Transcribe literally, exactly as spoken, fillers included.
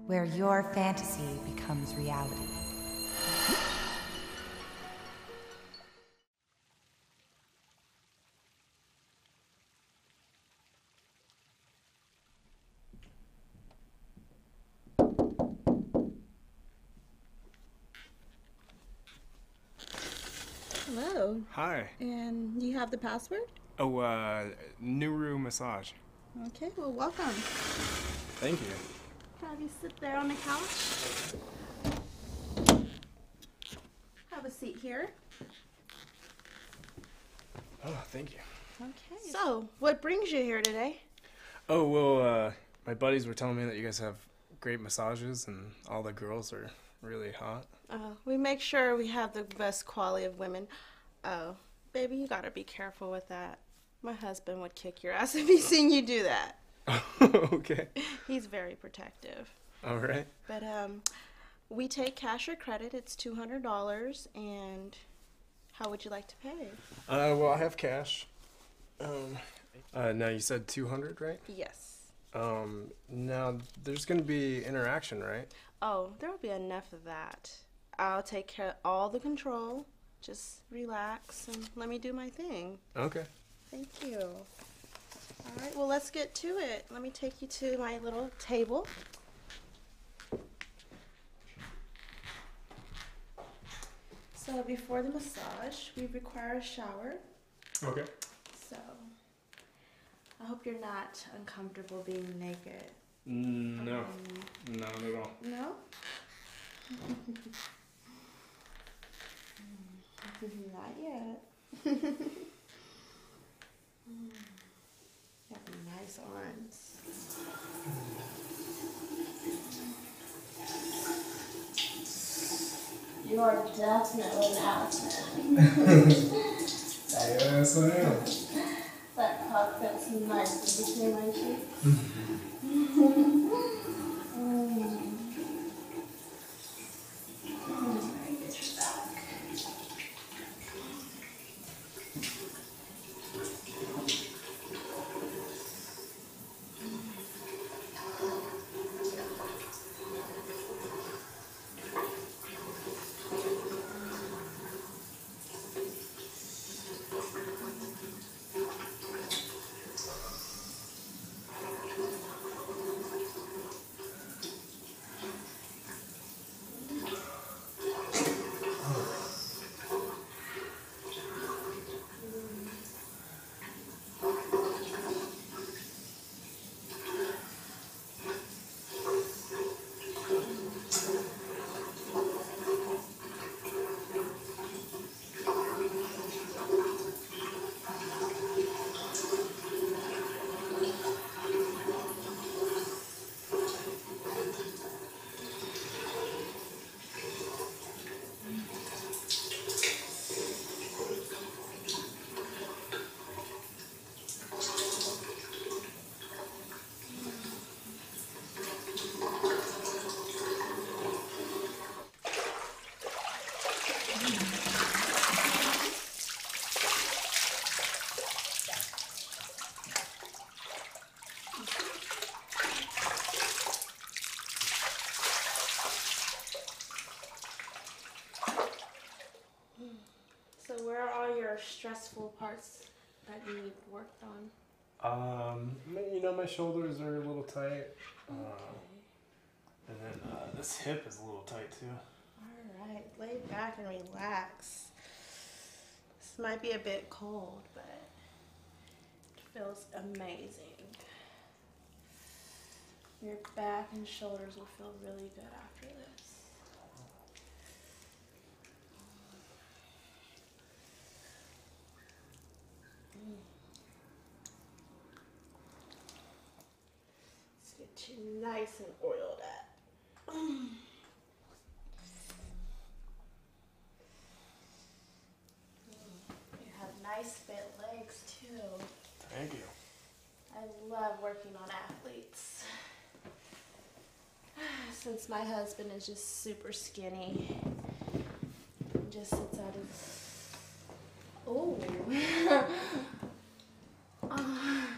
where your fantasy becomes reality. Hello. Hi. And you have the password? Oh, uh, Nuru Massage. Okay, well, welcome. Thank you. Have you sit there on the couch. Have a seat here. Oh, thank you. Okay. So, what brings you here today? Oh, well, uh, my buddies were telling me that you guys have great massages and all the girls are really hot. Uh, we make sure we have the best quality of women. Oh, baby, you gotta be careful with that. My husband would kick your ass if he seen you do that. Okay. He's very protective. All right. But um, we take cash or credit. It's two hundred dollars. And how would you like to pay? Uh, well, I have cash. Um, uh, now you said two hundred, right? Yes. Um, now there's gonna be interaction, right? Oh, there will be enough of that. I'll take care of all the control. Just relax and let me do my thing. Okay. Thank you. All right, well, let's get to it. Let me take you to my little table. So before the massage, we require a shower. Okay. So I hope you're not uncomfortable being naked. Mm, no. Um, Not at all. No? Not yet. You have nice arms. You are definitely an ass man. Yes, I am. That cock fits nice between my cheeks. So where are all your stressful parts that you need worked on? Um, you know, my shoulders are a little tight. Uh, Okay. and then uh, this hip is a little tight too. All right, lay back and relax. This might be a bit cold, but it feels amazing. Your back and shoulders will feel really good after this. Let's get you nice and oiled up. You have nice fit legs too. Thank you. I love working on athletes. Since my husband is just super skinny and just sits out his... Oh. Oh.